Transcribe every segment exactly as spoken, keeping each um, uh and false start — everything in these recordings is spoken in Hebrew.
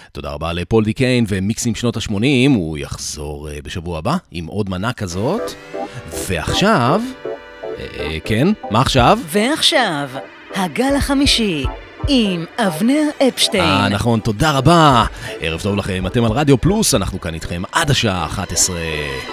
תודה רבה לפול די קיין ומיקסים שנות ה-שמונים, הוא יחזור בשבוע הבא עם עוד מנה כזאת. ועכשיו, אה, כן, מה עכשיו? ועכשיו, הגל החמישי עם אבנר אפשטיין. אה, נכון, תודה רבה. ערב טוב לכם, אתם על רדיו פלוס, אנחנו כאן איתכם עד השעה אחת עשרה.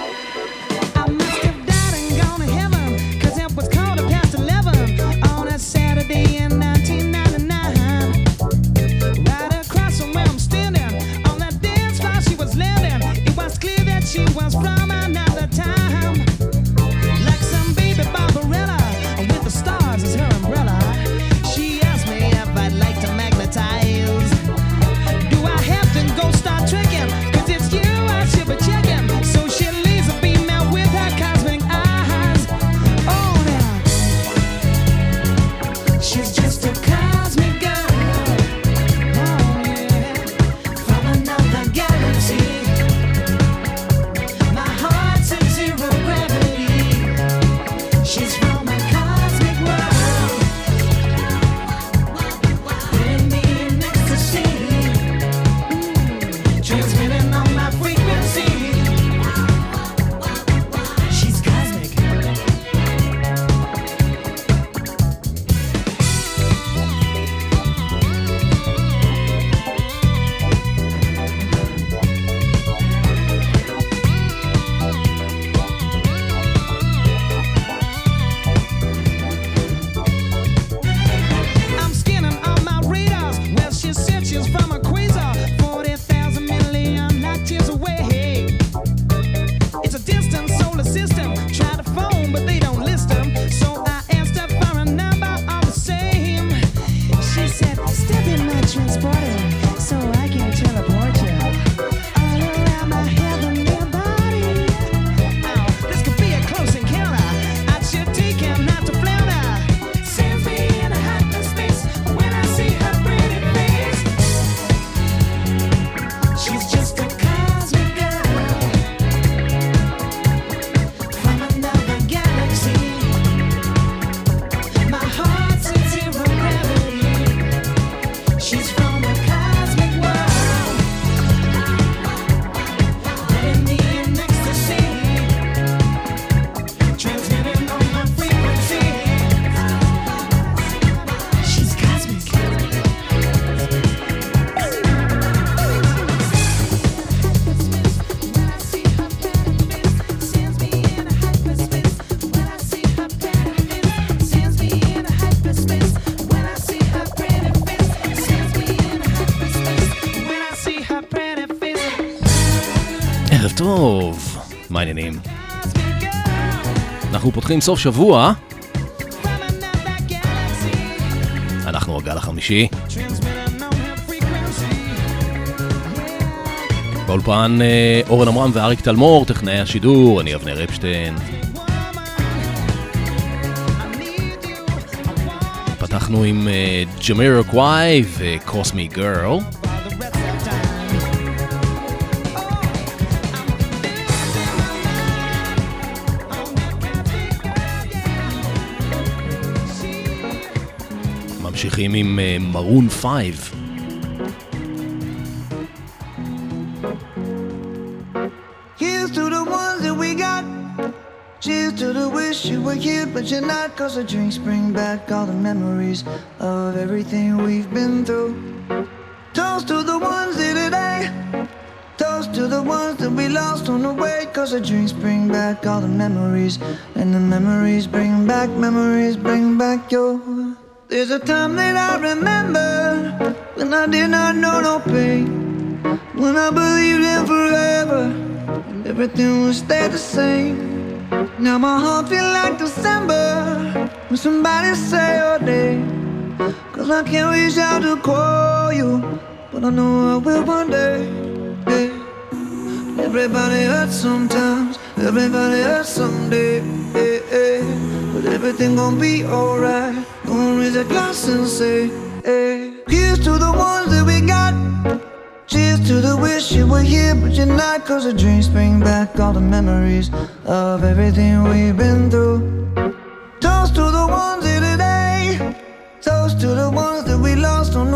טוב, מה העניינים? אנחנו פותחים סוף שבוע. אנחנו הגל החמישי. באולפן אורן עמרם ואריק תלמור, טכנאי השידור, אני אבנר אפשטיין. פתחנו עם ג'מירוקוואי וקוסמי גרל. ממשיכים עם מרון פייב. Here's to the ones that we got. Cheers to the wish you were here but you're not. Cause the drinks bring back all the memories of everything we've been through. Toast to the ones here today. Toast to the ones that we lost on the way. Cause the drinks bring back all the memories. And the memories bring back, memories bring back your... There's a time that I remember when I did not know no pain, when I believed in forever and everything would stay the same. Now my heart feel like December when somebody say your name. Cause I can't reach out to call you, but I know I will one day. Yeah. Everybody hurts sometimes, everybody hurts someday. Yeah, yeah. But everything gon' be alright. Gonna raise a glass and say, hey. Here's to the ones that we got. Cheers to the wish you were here but you're not. Cause the drinks bring back all the memories of everything we've been through. Toast to the ones here today. Toast to the ones that we lost on the way.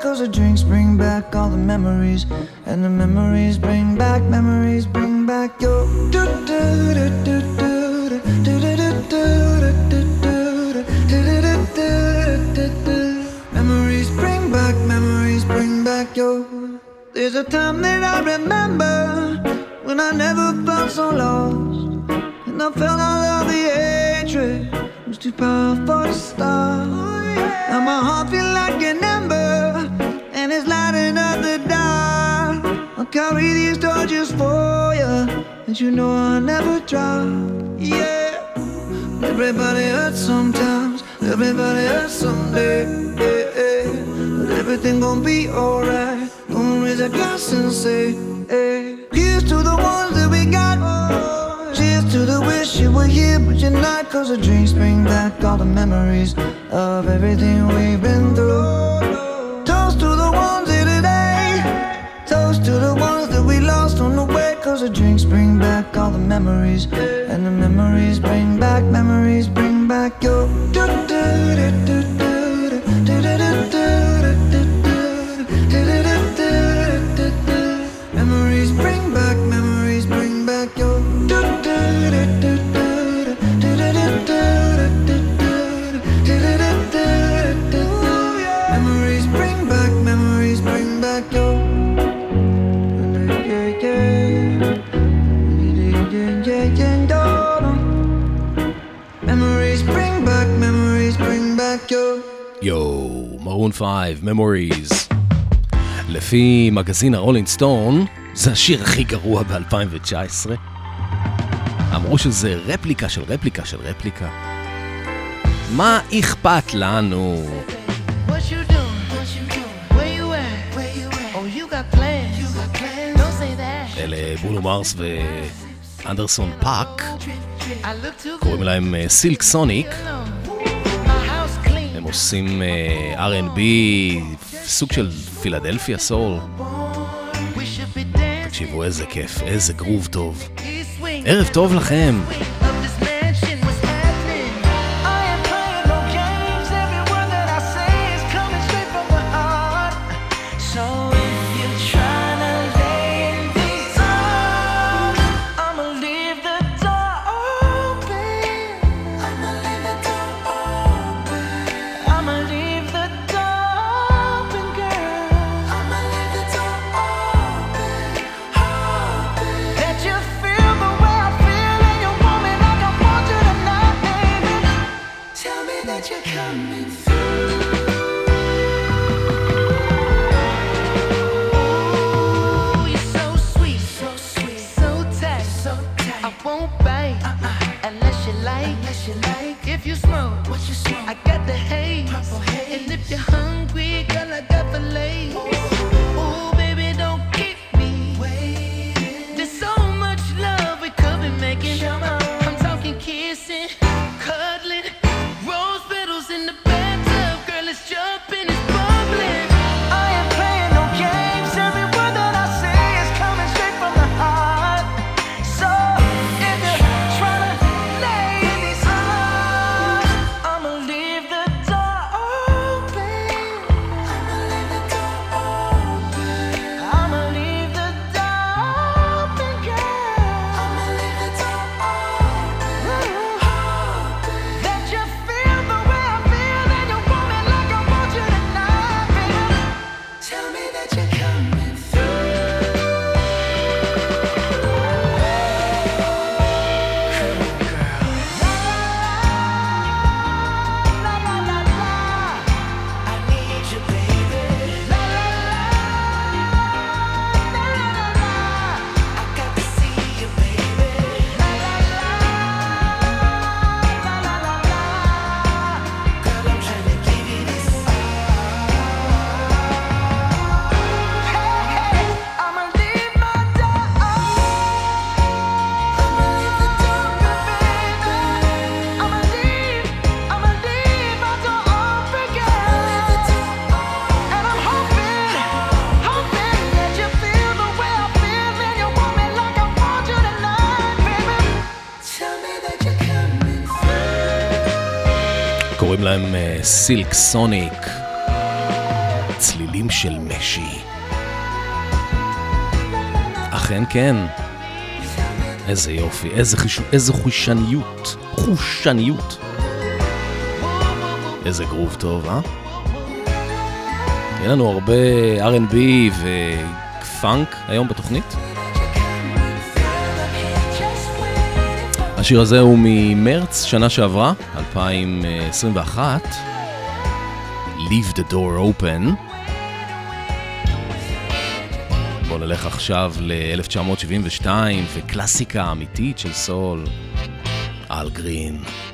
cause the drinks bring back all the memories. And the memories bring back, memories bring back your do do do do do do do do do do do do do. Memories bring back, memories bring back your. There's a time that I remember when I never felt so lost, and I felt all of the hatred was too powerful to stop. Now my heart feel like an ember, and it's lighting up the dark. I'll carry these torches for you, and you know I'll never drop. Yeah, everybody hurts sometimes, everybody hurts someday. Yeah, yeah. But everything gon' be alright. Gonna raise a glass and say, hey, here's to the ones that we got. Cheers to the wish you were here but you're not, cause the drinks bring back all the memories of everything we've been through. Toast to the ones here today, toast to the ones that we lost on the way, cause the drinks bring back all the memories. And the memories bring back, memories bring back your do do do do do do do do do. Memories bring back, memories bring back your do do do do do do do do do. Memories bring back, memories bring back your. Memories bring back, memories bring back your. Yo, Maroon five, Memories. לפי מגזין הרולינג סטון, זה השיר הכי גרוע ב-אלפיים תשע עשרה. אמרו שזה רפליקה של רפליקה של רפליקה. מה אכפת לנו? אלה ברונו מרס ואנדרסון פאק, קוראים להם סילק סוניק. הם עושים אר אנד בי, סוג של פילדלפיה סול. תקשיבו, איזה כיף, איזה גרוב טוב. ערב טוב לכם. קוראים להם סילק סוניק. צלילים מילים של משי. אכן כן. איזה יופי, איזה, חיש... איזה חושניות, חושניות. איזה גרוב טוב, אה? יהיה לנו הרבה אר אנד בי ופאנק היום בתוכנית. השיר הזה הוא ממרץ שנה שעברה, אלפיים עשרים ואחת. Leave the door open. בואו נלך עכשיו ל-אלף תשע מאות שבעים ושתיים וקלאסיקה אמיתית של סול, אל גרין.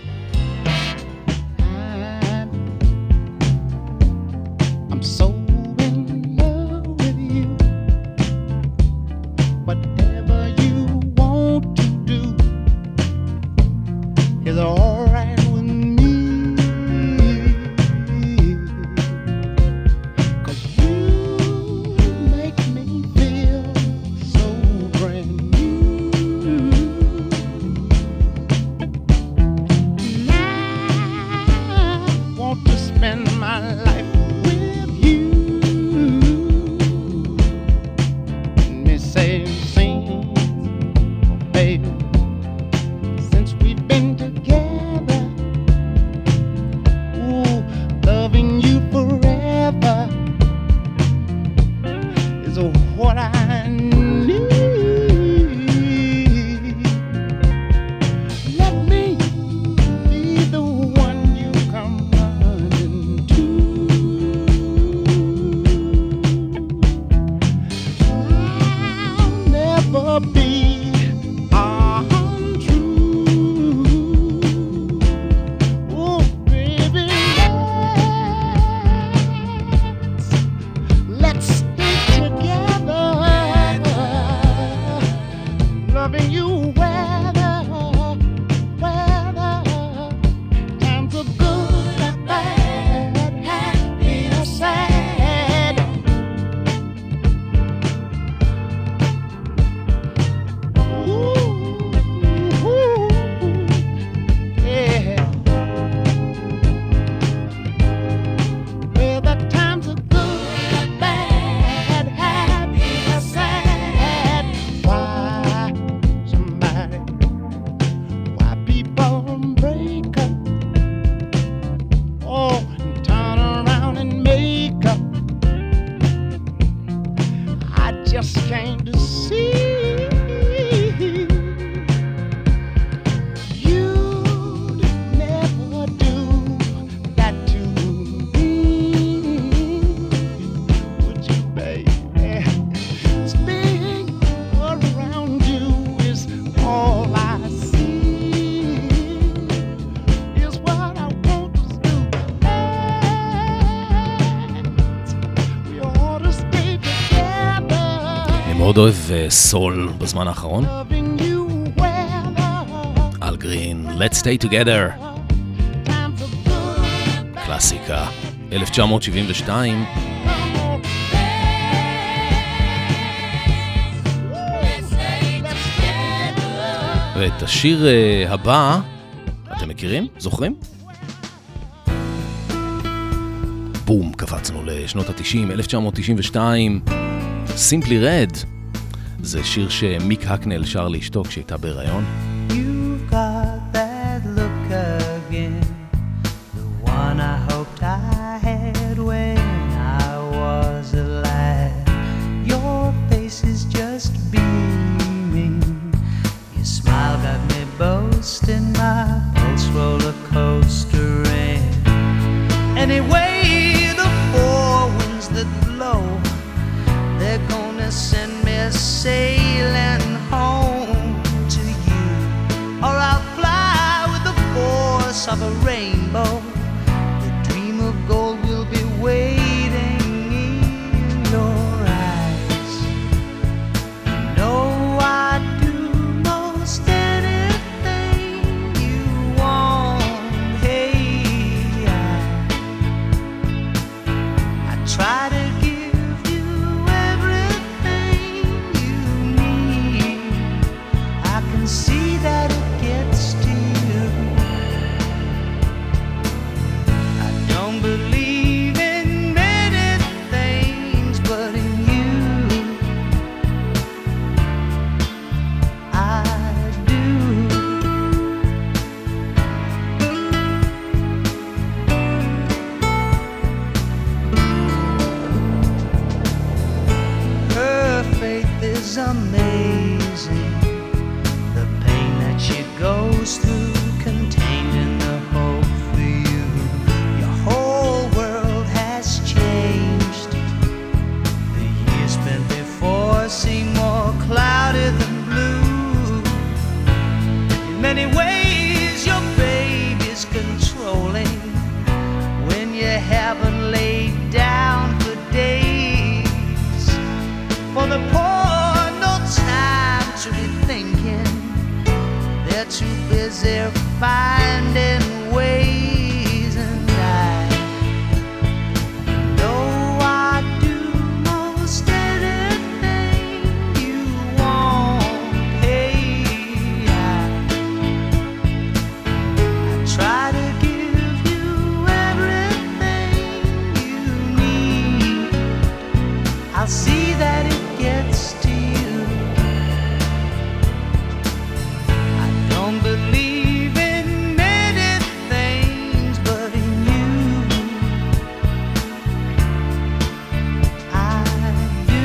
מאוד אוהב סול בזמן האחרון. אל גרין, Let's Stay Together. קלאסיקה, אלף תשע מאות שבעים ושתיים. ואת השיר הבא, אתם מכירים? זוכרים? בום, קפצנו לשנות ה-תשעים, אלף תשע מאות תשעים ושתיים. Simply Red. זה שיר שמיק הקנל שר לאשתו כשהייתה בהיריון. You've got that look again, the one I hoped I had when I was alive. Your face is just beaming, your smile got me boasting, my pulse roller coastering. Anyway, the four winds that blow, they're gonna send me sailing home to you, or I'll fly with the force of a rainbow. The dream of gold will be waiting in your eyes. You know I'd do most anything you want. Hey, I, I try to give you everything you is amazing. The pain that she goes through, contained in the hope for you. Your whole world has changed. The years spent before seem more cloudy than blue. In many ways, your baby's controlling when you haven't laid down for days. For the poor, no time to be thinking. They're too busy finding ways. And I know I do most anything you want. Hey, I, I try to give you everything you need. I'll see that it gets to you. I don't believe in many things, but in you I do.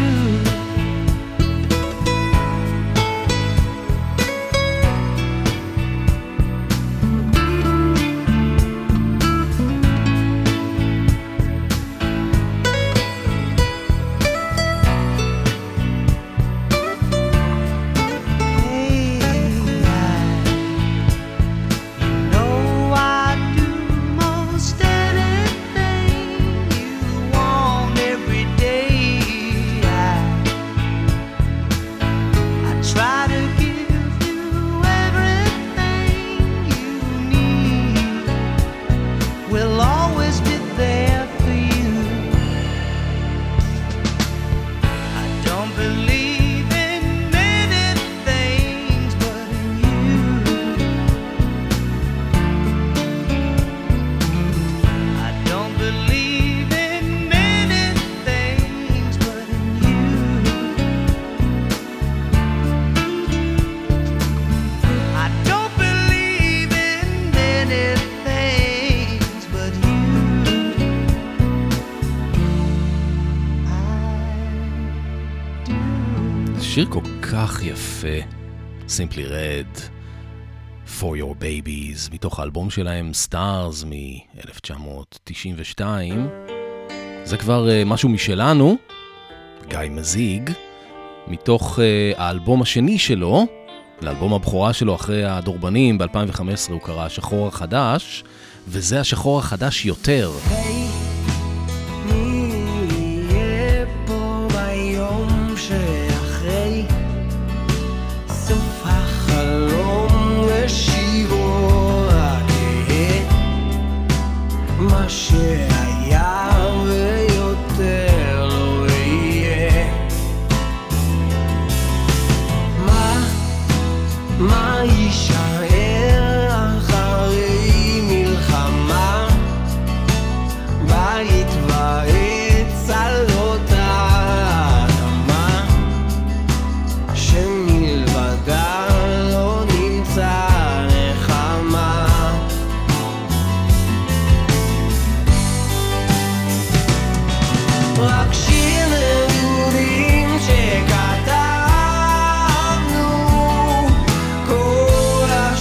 שיר כל כך יפה, Simply Red, For Your Babies, מתוך האלבום שלהם Stars מ-אלף תשע מאות תשעים ושתיים. זה כבר uh, משהו משלנו, גיא מזיג, מתוך uh, האלבום השני שלו, לאלבום הבכורה שלו אחרי הדורבנים ב-אלפיים וחמש עשרה הוא קרא השחור החדש, וזה השחור החדש יותר. שהיה ויותר לא יהיה. מה, מה יישאר אחרי מלחמה? בית ועץ על אותה אדמה, שמלבדה לא נמצא נחמה. רק שיר נעורים שכתבנו, כל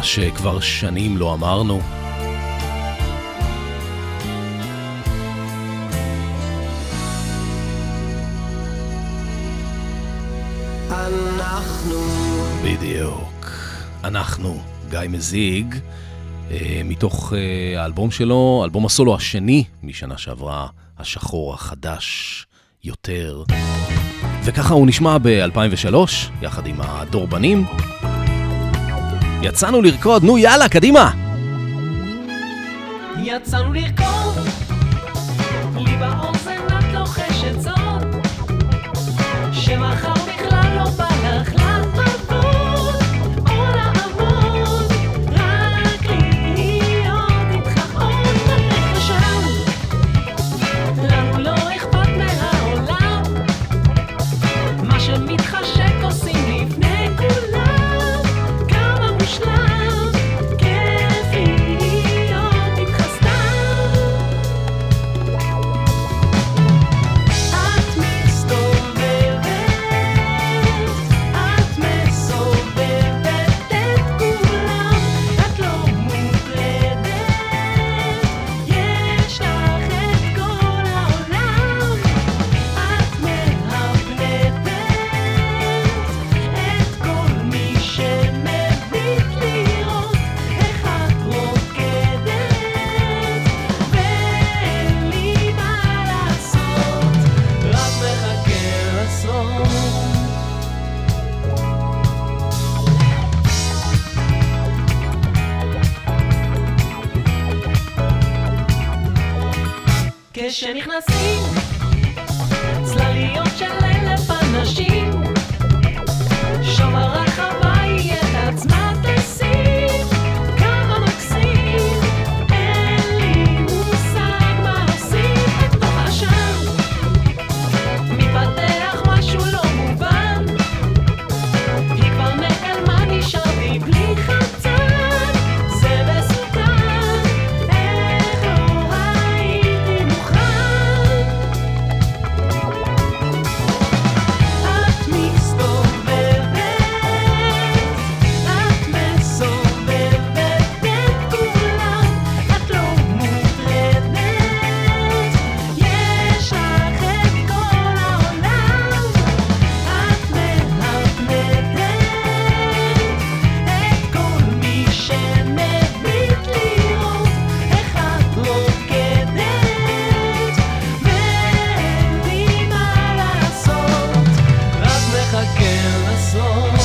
מה שכבר שנים לא אמרנו. אנחנו בדיוק. אנחנו, גיא מזיג, מתוך האלבום שלו, אלבום הסולו השני משנה שעברה, השחור החדש יותר. וככה הוא נשמע ב-אלפיים ושלוש, יחד עם הדורבנים. יצאנו לרקוד, נו יאללה, קדימה! יצאנו לרקוד, לי באוזן את לוחשת זאת, שמחר בכלל לא בא לך לעבוד, או לעבוד, רק להיות איתך עוד בדרך לשם. לנו לא אכפת מהעולם, מה שמתחשק עושים לפני כולם, כמה מושלם, כיף להיות איתך סתם. את מסתובבת, את מסובבת את כולם, את לא מוטרדת, יש לך את כל העולם. את מהפנטת את כל מי שמביט לראות איך את רוקדת, ואין לי מה לעשות, רק מחכה לסוף. כשנכנסים צלליות של אלף אנשים, שם הרחבה היא את עצמה תשים, כמה מקסים, אין לי מושג מה עושים בתוך השם. מתפתח משהו לא מובן, היא כבר נעלמה, נשארתי בלי חמצן, זה מסוכן, איך לא הייתי מוכן. את מסתובבת, את מסובבת את כולם, את לא מוטרדת, יש לך את כל העולם. את מהפנטת את כל מי שמביט לראות איך את רוקדת, ואין לי מה לעשות, רק מחכה לסוף.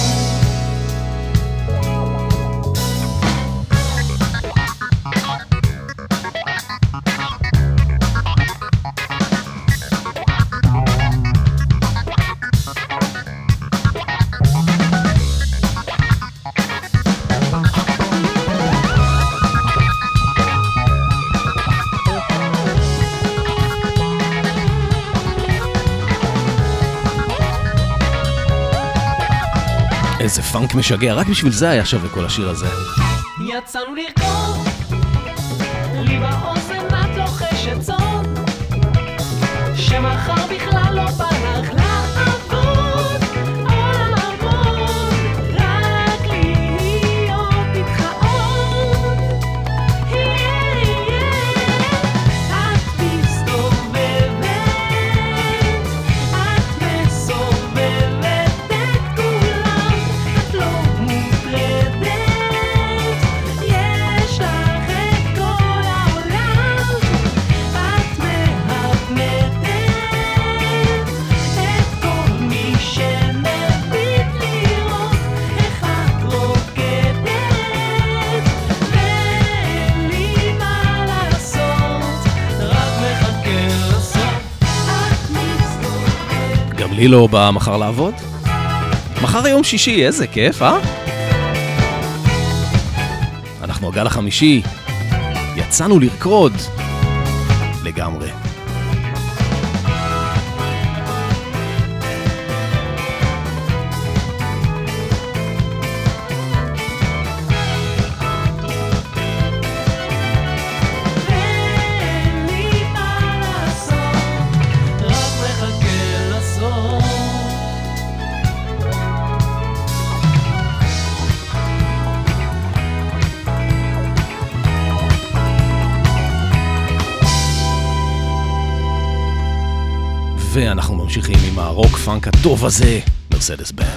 איזה פאנק משגע, רק בשביל זה היה שווה כל השיר הזה. יצאנו לרקוד, לי באוזן את לוחשת זאת, שמחר בכלל לא בא לך לעבוד, או לעבוד, רק להיות איתך עוד. את מסתובבת, את מסובבת את כולם, את לא מוטרדת, יש לך את כל העולם. את מהפנטת את כל מי שמביט לראות איך את רוקדת, ואין לי מה לעשות, רק מחכה לסוף. את מסתובבת. גם לי לא בא מחר לעבוד? מחר יום שישי, איזה כיף, אה? אנחנו הגל החמישי, יצאנו לרקוד לגמרי. ואין לי מה לעשות, רק מחכה לסוף. ואנחנו ממשיכים עם הרוק פאנק הטוב הזה, מרסדס בנד.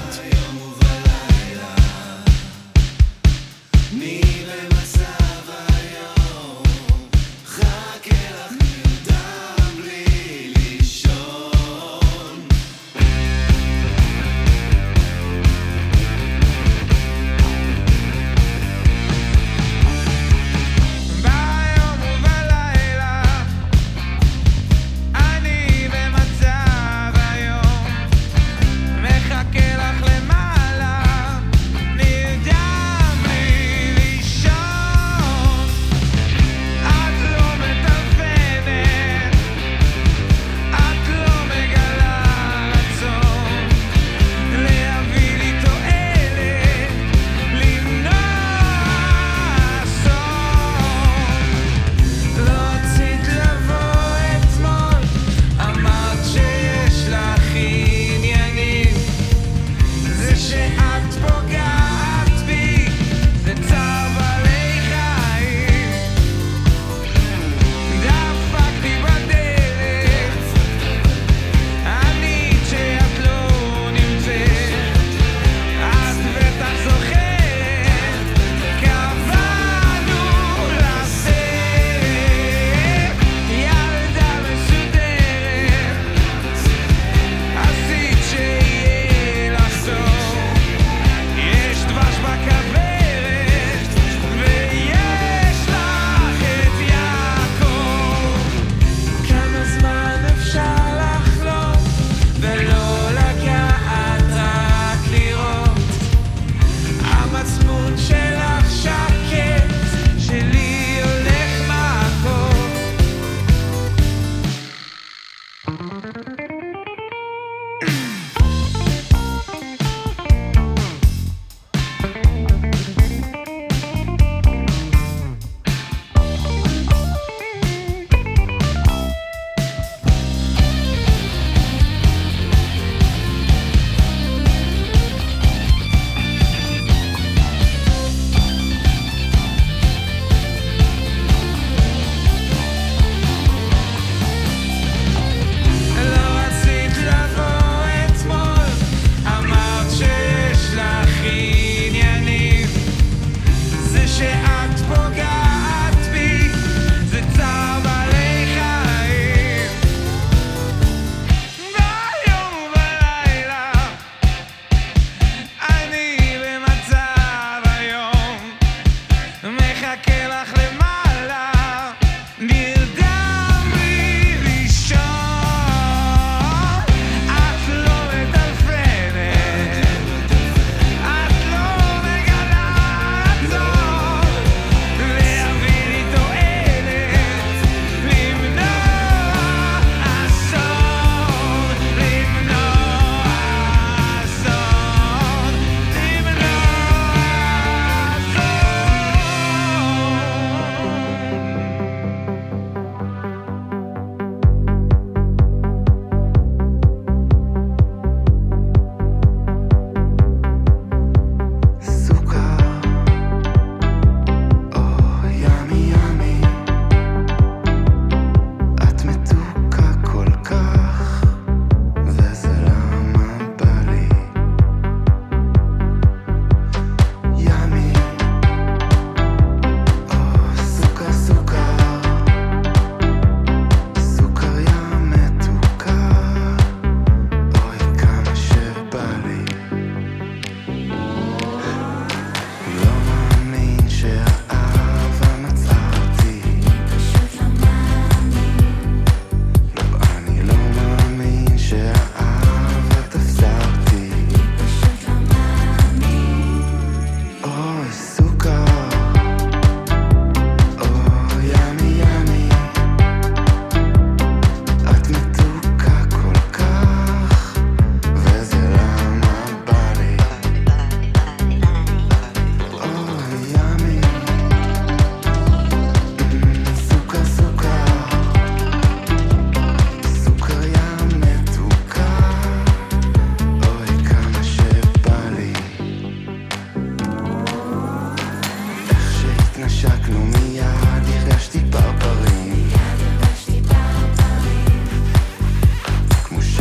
כמו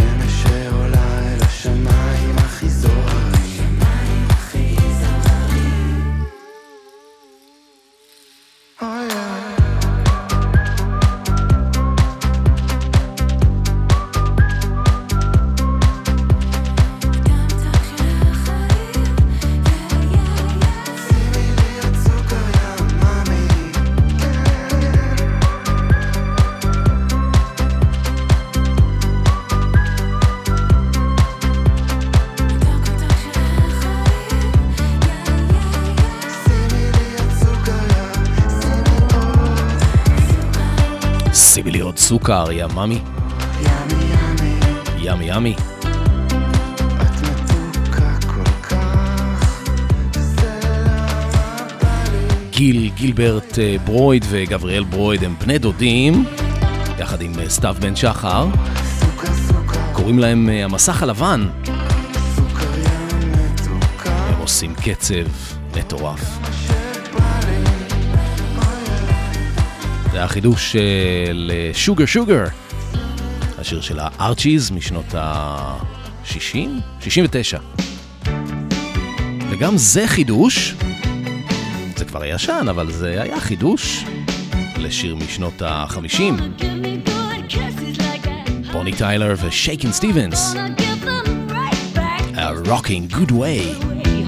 סוכר, יא מאמי. ימי ימי, ימי ימי. את מתוקה כל כך, זה למה בא לי. גיל גילברט אה, ברויד וגבריאל ברויד הם בני דודים, יחד עם אה, סתיו בן שחר. סוכר סוכר, קוראים להם אה, המסך הלבן. סוכר יא מתוקה, הם עושים קצב מטורף. שבא לי. זה החידוש של שוגר שוגר, השיר של הארצ'יז משנות ה-שישים? שישים ותשע. וגם זה חידוש, זה כבר ישן, אבל זה היה חידוש לשיר משנות ה-חמישים. בוני טיילר ושייקין סטיבנס, A Rocking Good Way.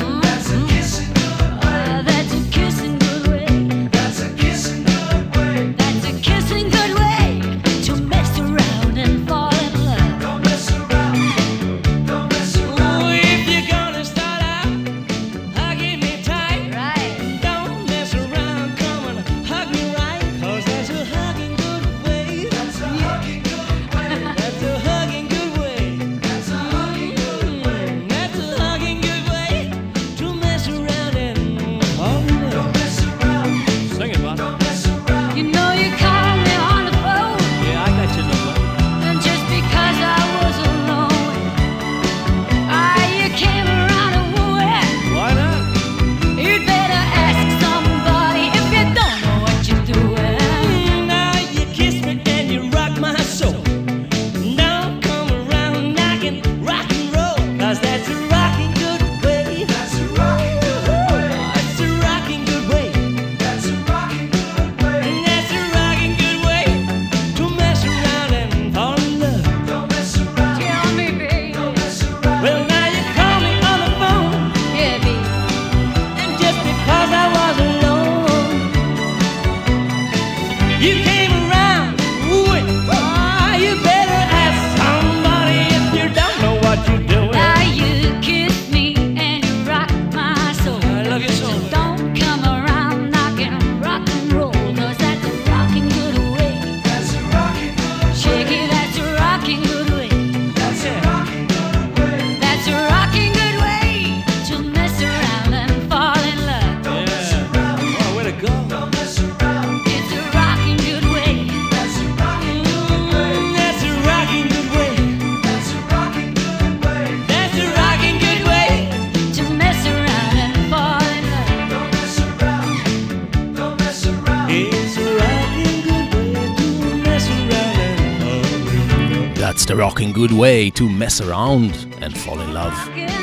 That's the rocking good way to mess around and fall in love.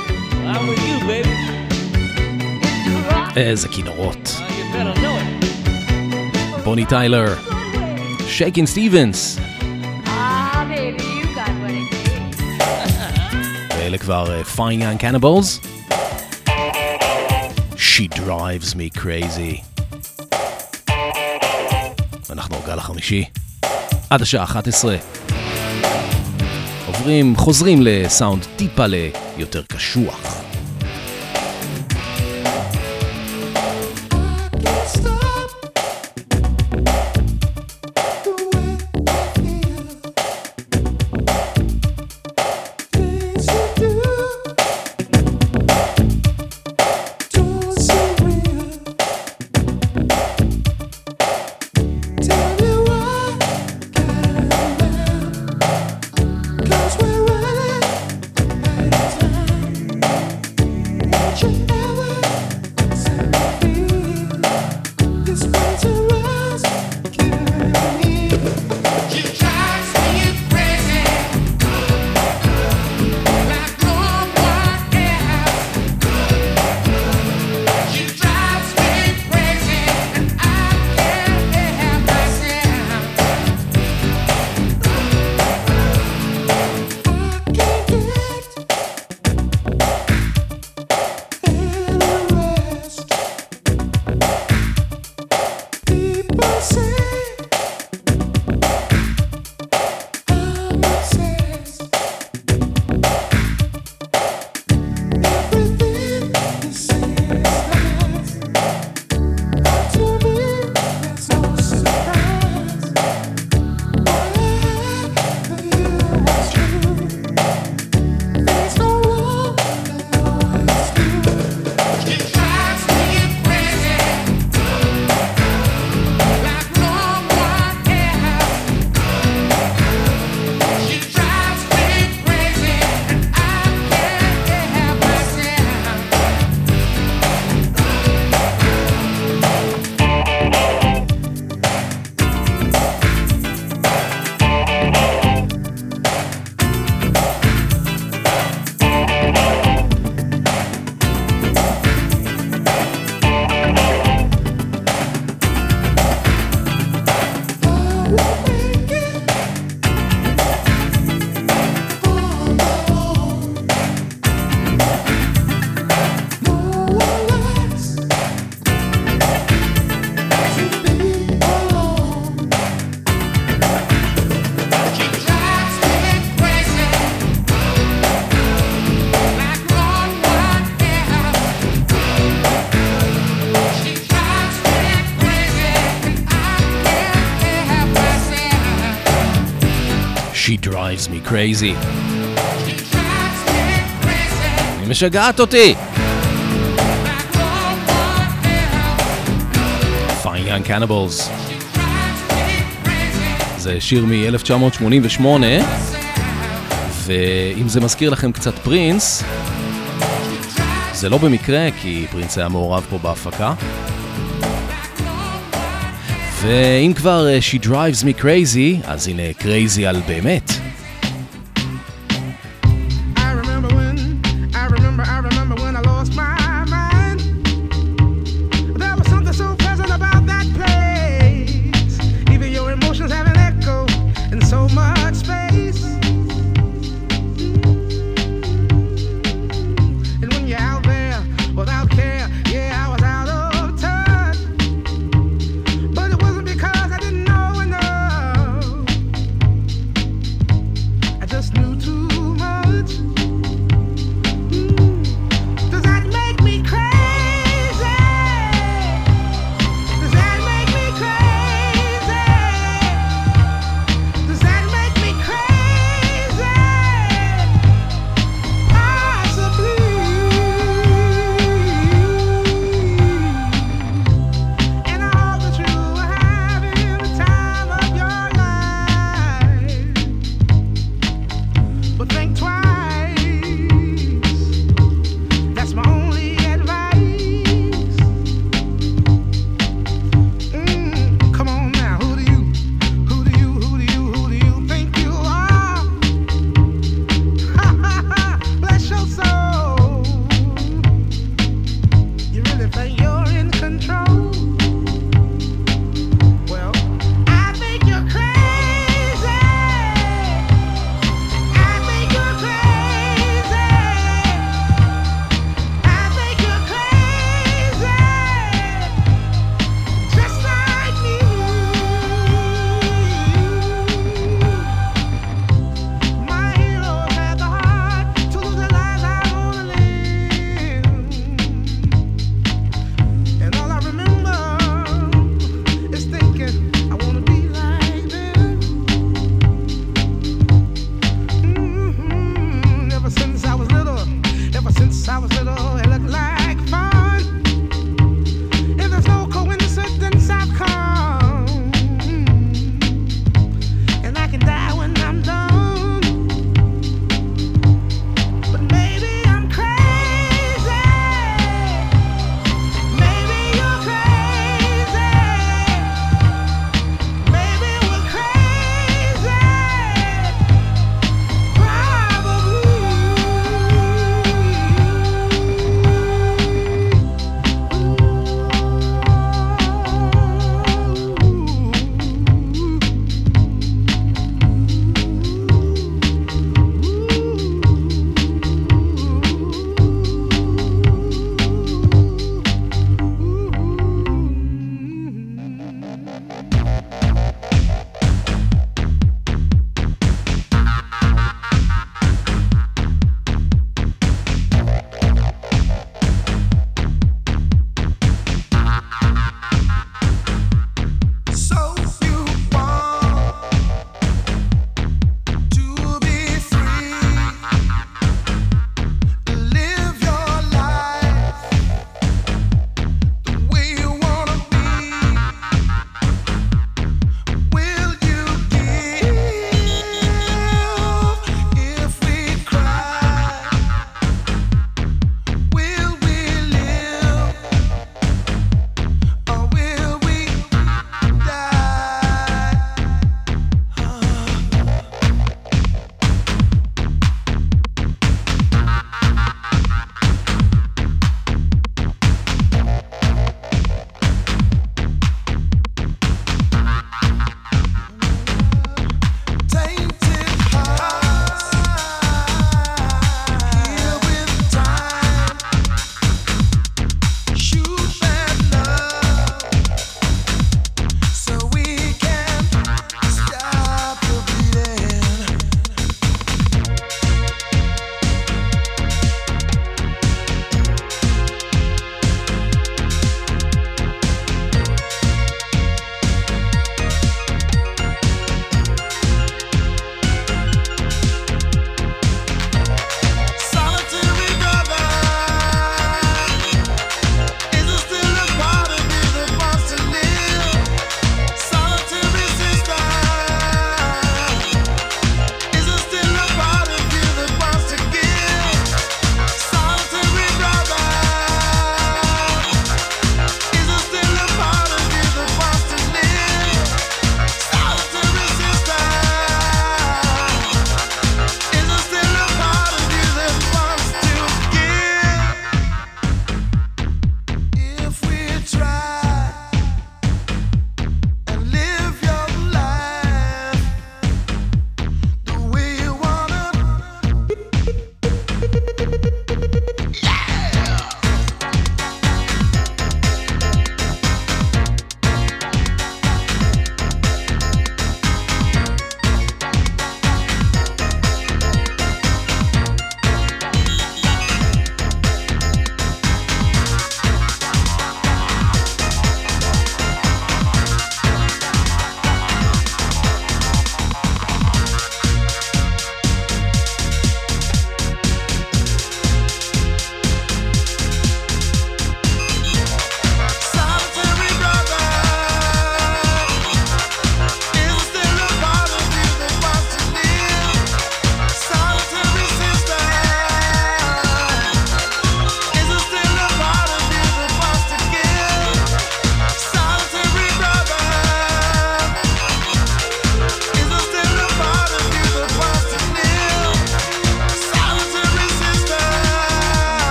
I'm with you, baby. איזה כינורות. Uh, you better know it. בוני טיילר, שייקין סטיבנס. ואלה כבר Fine Young Cannibals. She drives me crazy. אנחנו גל החמישי עד השעה אחת עשרה. עוברים, חוזרים לסאונד טיפה ליותר קשוח. Cause we're running out of time. She Drives Me Crazy. היא משגעת אותי. Fine Young Cannibals. זה שיר מ-אלף תשע מאות שמונים ושמונה, ואם זה מזכיר לכם קצת פרינס, זה לא במקרה, כי פרינס היה מעורב פה בהפקה. ואם כבר She Drives Me Crazy, אז הנה Crazy על באמת.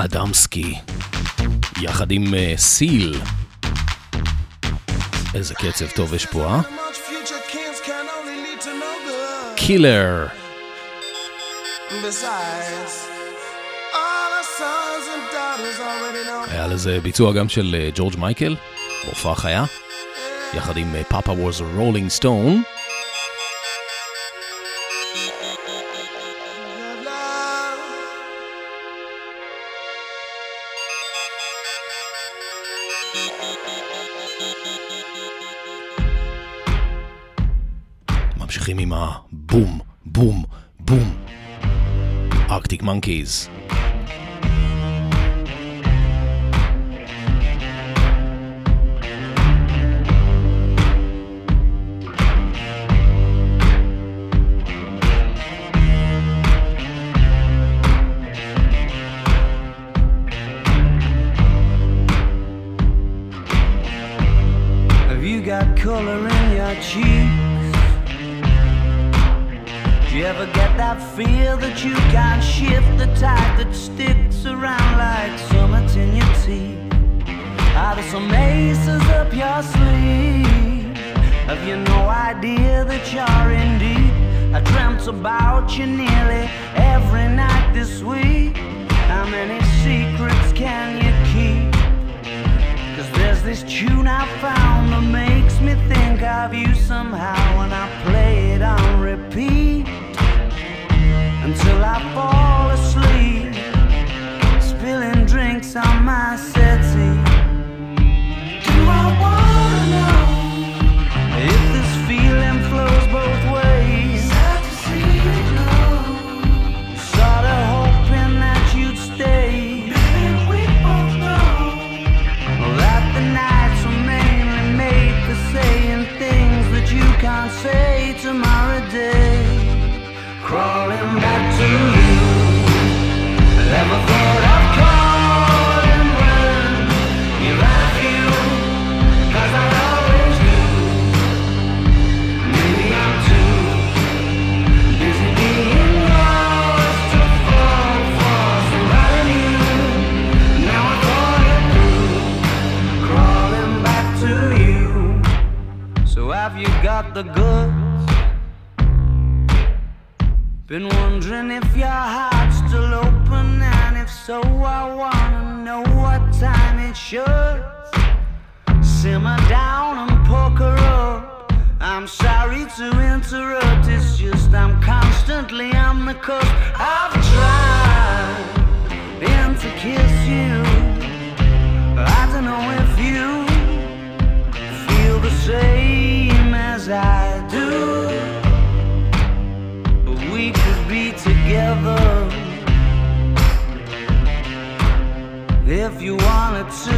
אדמסקי, יחד עם uh, סיל. איזה קצב טוב יש פה, אה? קילר. היה לזה ביצוע גם של uh, ג'ורג' מייקל, בהופעה חיה, יחד עם uh, Papa was a Rolling Stone. ממשיכים עם הבום, בום, בום. Arctic Monkeys. Have you got color in your cheeks? Do you ever get that feel that you can't shift, the tide that sticks around like summits in your teeth? Are there some aces up your sleeve? Have you no idea that you're in deep? I dreamt about you nearly every night this week. How many secrets can you keep? 'Cause there's this tune I found that makes me think of you somehow, and I play it on repeat until I fall asleep, spilling drinks on my settee. Do I wanna know if this feeling flows both ways? Sad to see you go. Sorta hoping that you'd stay. Baby, we both know that the nights were mainly made for saying things that you can't say tomorrow day. Crawling back to you. Never thought I'd calling when you're at you, 'cause I always do. Maybe I'm too busy being lost to fall for somebody new. Now I thought it through. Crawling back to you. So have you got the goods? Been wondering if your heart's still open, and if so, I wanna know what time it should. Simmer down and poker up. I'm sorry to interrupt, it's just I'm constantly on the cusp. I've tried and to kiss you. I don't know if you feel the same as I do. We could be together if you wanted to.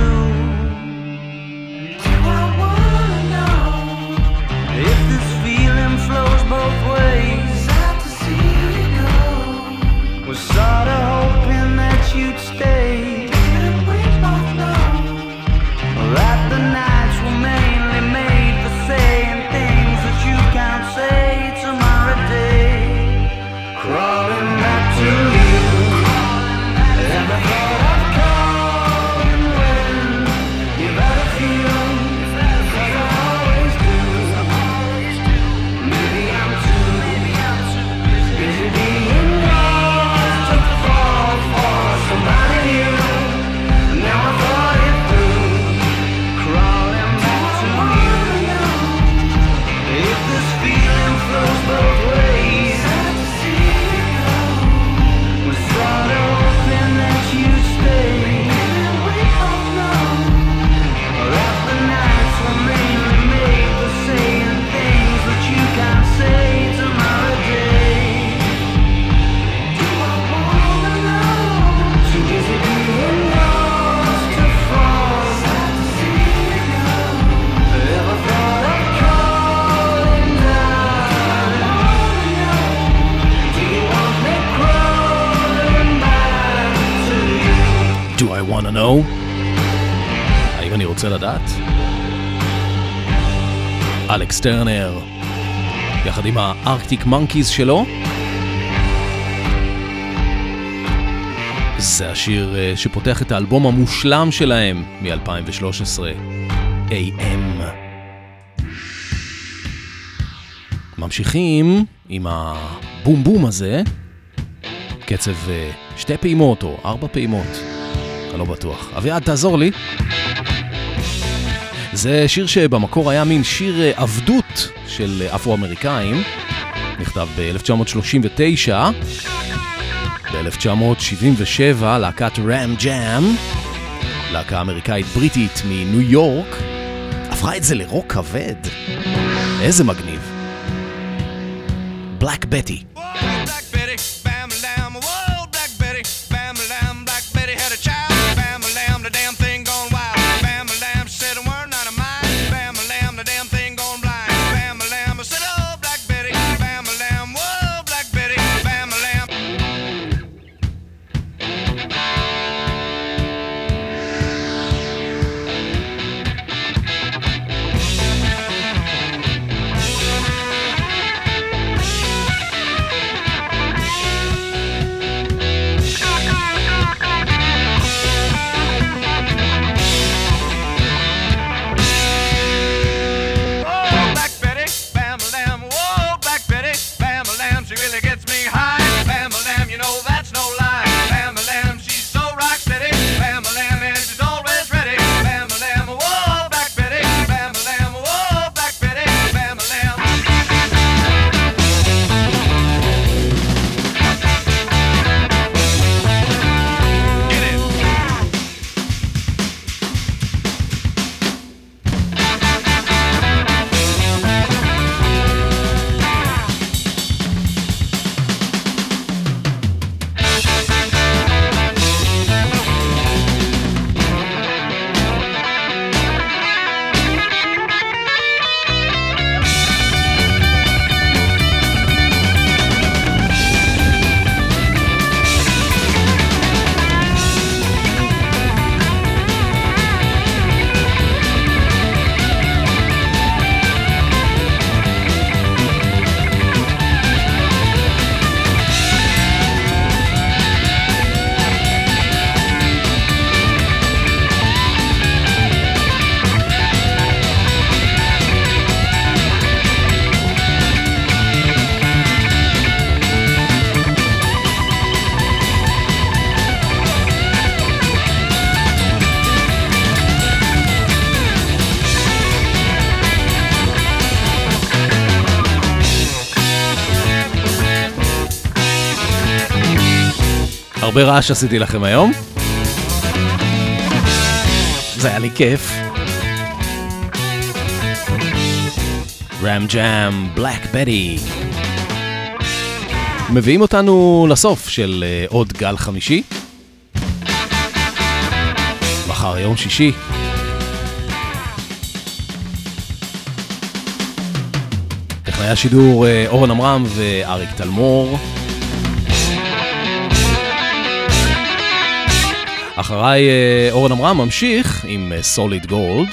Do I wanna know if this feeling flows both ways? Sad to see you go. Was sorta hoping that you'd stay. And we both know that the nights were mainly made for saying things that you can't say tomorrow day. Crawling back to you. Never thought I'd call when you've had a few, 'cause I always do. Maybe I'm too busy being lost to fall for somebody new. Now I thought it through. Crawling back to you. If this feeling flows both ways, sorta hoping that you'd stay. And we both know that the nights were mainly made for saying things that you can't say tomorrow day. Do I wanna know? Too busy being lost to fall. Sad to see you go. Ever thought of calling down? Do you want me crawling? Do I wanna know? האם אני רוצה לדעת? אלכס טרנר, יחד עם הארקטיק מונקיז שלו. זה השיר שפותח את האלבום המושלם שלהם מ-אלפיים ושלוש עשרה, איי אם. ממשיכים עם הבום בום הזה, קצב שתי פעימות או ארבע פעימות, אני לא בטוח. אביעד, תעזור לי. זה שיר שבמקור היה מין שיר עבדות של אפרו-אמריקאים, נכתב ב-אלף תשע מאות שלושים ותשע. ב-אלף תשע מאות שבעים ושבע להקת רם ג'אם, להקה אמריקאית בריטית מניו יורק, הפכה את זה לרוק כבד. איזה מגניב. בלק בטי. הרבה רעש עשיתי לכם היום. זה היה לי כיף. רם ג'אם, בלק בטי. מביאים אותנו לסוף של uh, עוד גל חמישי. מחר יום שישי. טכנאי השידור uh, אורן אמרם ואריק תלמור. אחריי אורן אמרם ממשיך עם סוליד גולד.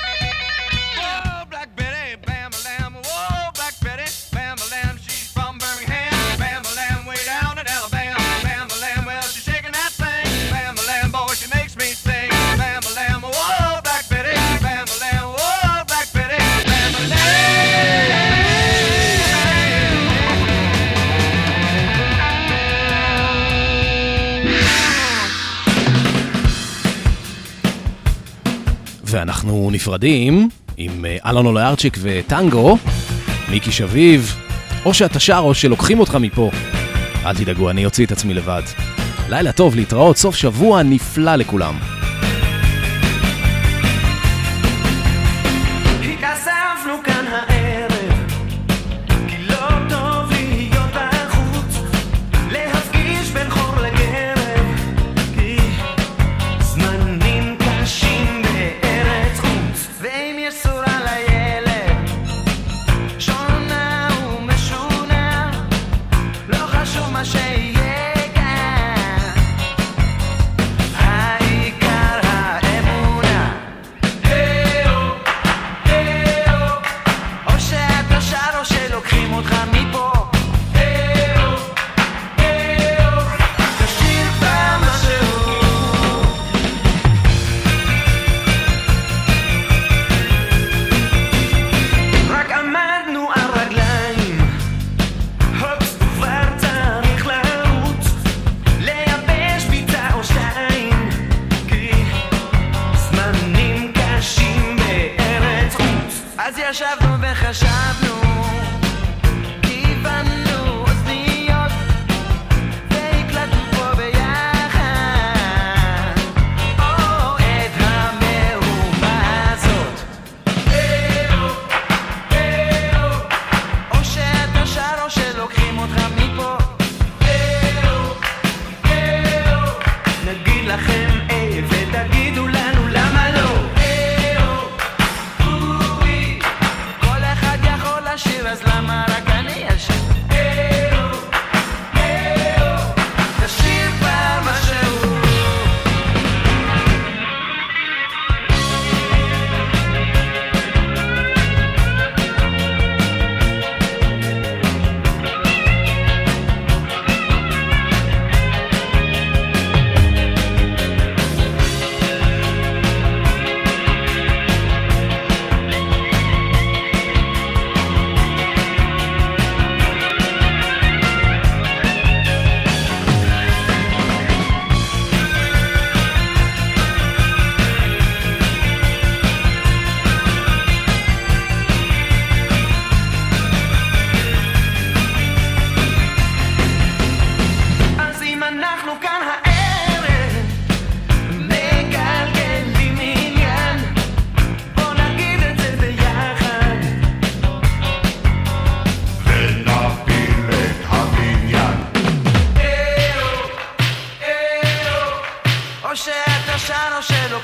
ואנחנו נפרדים עם אלון אוליירצ'יק וטנגו, מיקי שביב, או שאתה שר או שלוקחים אותך מפה. אל תדאגו, אני אוציא את עצמי לבד. לילה טוב, להתראות, סוף שבוע נפלא לכולם. שיהיה כאן העיקר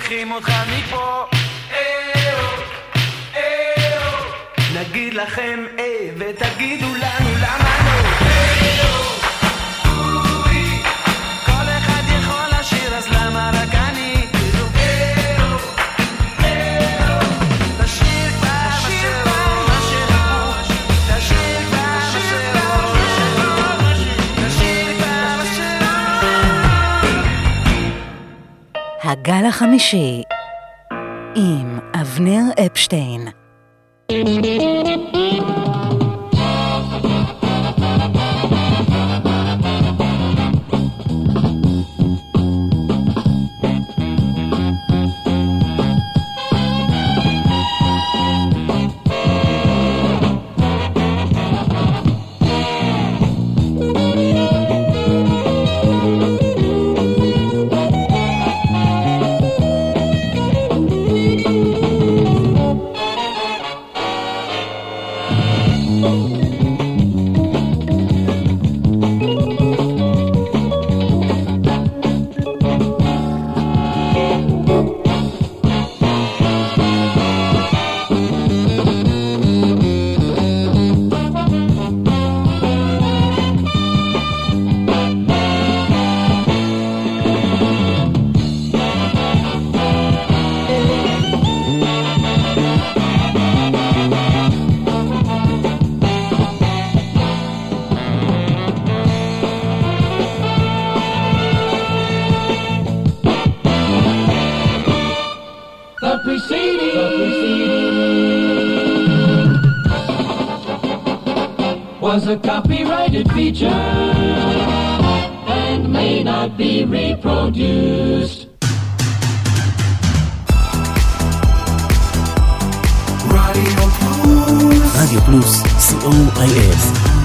צריכים אותך מפה. נגיד לכם אה ותגידו לנו למה לא. כל אחד יכול לשיר אז למה רק אני? תשאיר כבר מה שראו, תשאיר כבר מה שראו, תשאיר כבר מה שראו. הגל החמישי עם אבנר אפשטיין. Was a copyrighted feature and may not be reproduced. רדיו פלוס, רדיו פלוס, סי או איי אס